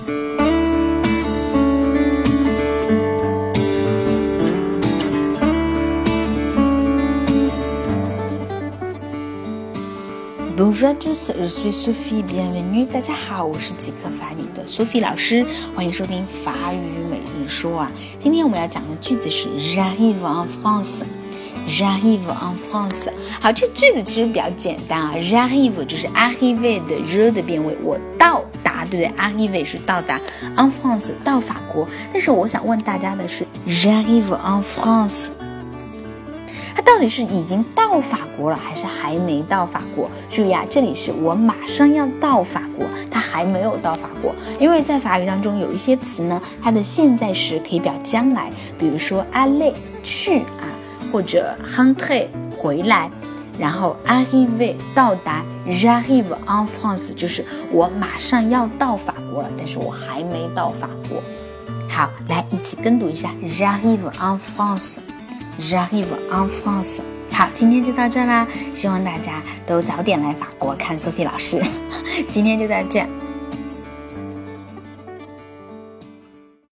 Bonjour à tous, je suis Sophie, bienvenue. 大家好，我是即刻法语的 Sophie 老师，欢迎收听法语每日说啊。今天我们要讲的句子是 J'arrive en France。J'arrive en France。好，这句子其实比较简单啊。J'arrive 就是 arriver 的 je 的变位，我到达，对不对 ？arrive 是到达 ，en France 到法国。但是我想问大家的是 ，J'arrive en France。他到底是已经到法国了，还是还没到法国？注意啊，这里是我马上要到法国，他还没有到法国。因为在法语当中有一些词呢，它的现在时可以表将来，比如说 aller 去啊，或者 rentrer 回来，然后 arriver 到达 ，j'arrive en France 就是我马上要到法国了，但是我还没到法国。好，来一起跟读一下 j'arrive en France。J'arrive en France。好，今天就到这啦，希望大家都早点来法国看 Sophie 老师。今天就到这。